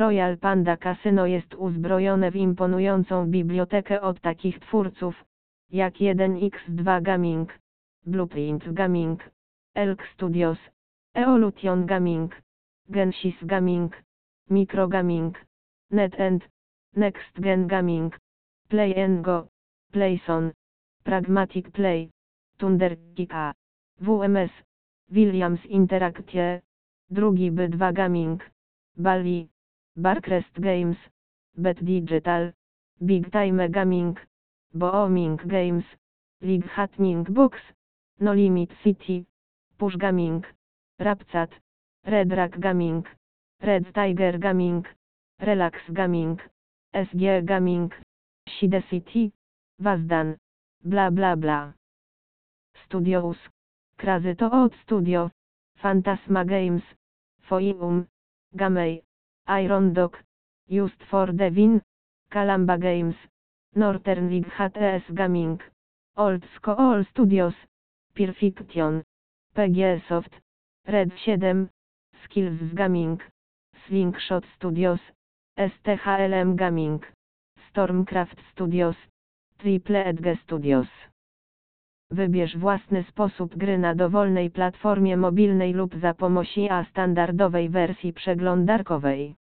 Royal Panda Casino jest uzbrojone w imponującą bibliotekę od takich twórców, jak 1x2 Gaming, Blueprint Gaming, Elk Studios, Evolution Gaming, Genesis Gaming, Micro Gaming, NetEnt, Next Gen Gaming, Play & Go, Playson, Pragmatic Play, Thunderkick A, WMS, Williams Interactive, drugi B2 Gaming, Bally, Barcrest Games, Bet Digital, Big Time Gaming, Booming Games, League Hatching Box, No Limit City, Push Gaming, Rapcat, Red Rack Gaming, Red Tiger Gaming, Relax Gaming, SG Gaming, Side City, Wazdan, bla bla bla. Studios, Crazy Toad Studio, Phantasma Games, Foium, Gamay, Iron Dog, Just for the Win, Kalamba Games, Northern League HTS Gaming, Old School Studios, Perfection, PG Soft, Red 7, Skills Gaming, Slingshot Studios, STHLM Gaming, Stormcraft Studios, Triple Edge Studios. Wybierz własny sposób gry na dowolnej platformie mobilnej lub za pomocą standardowej wersji przeglądarkowej.